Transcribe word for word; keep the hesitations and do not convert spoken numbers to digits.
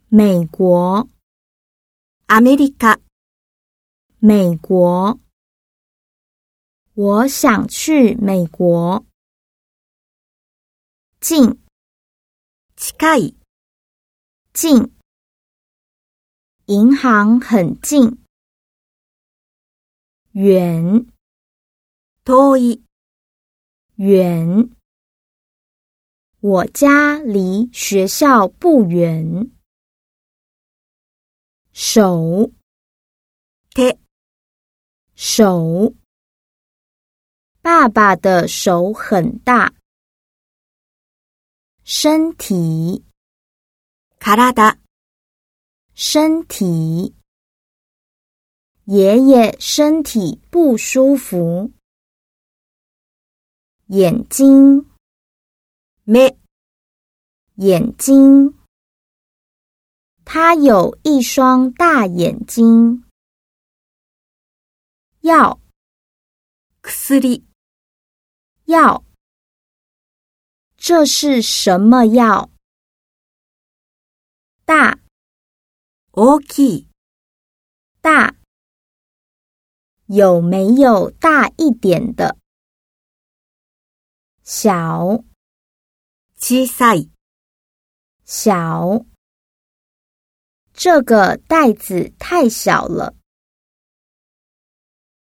美国。 アメリカ。 美国。我想去美国。近。 近い。 近。银行很近。远。 遠い。 远。我家离学校不远。手。 手。 手。爸爸的手很大。身体。 体。 身体。爷爷身体不舒服。眼睛。 目。 眼睛。他有一双大眼睛。药。 薬。 药。这是什么药？大。 大きい。 大。有没有大一点的？小。 小さい。 小。这个袋子太小了。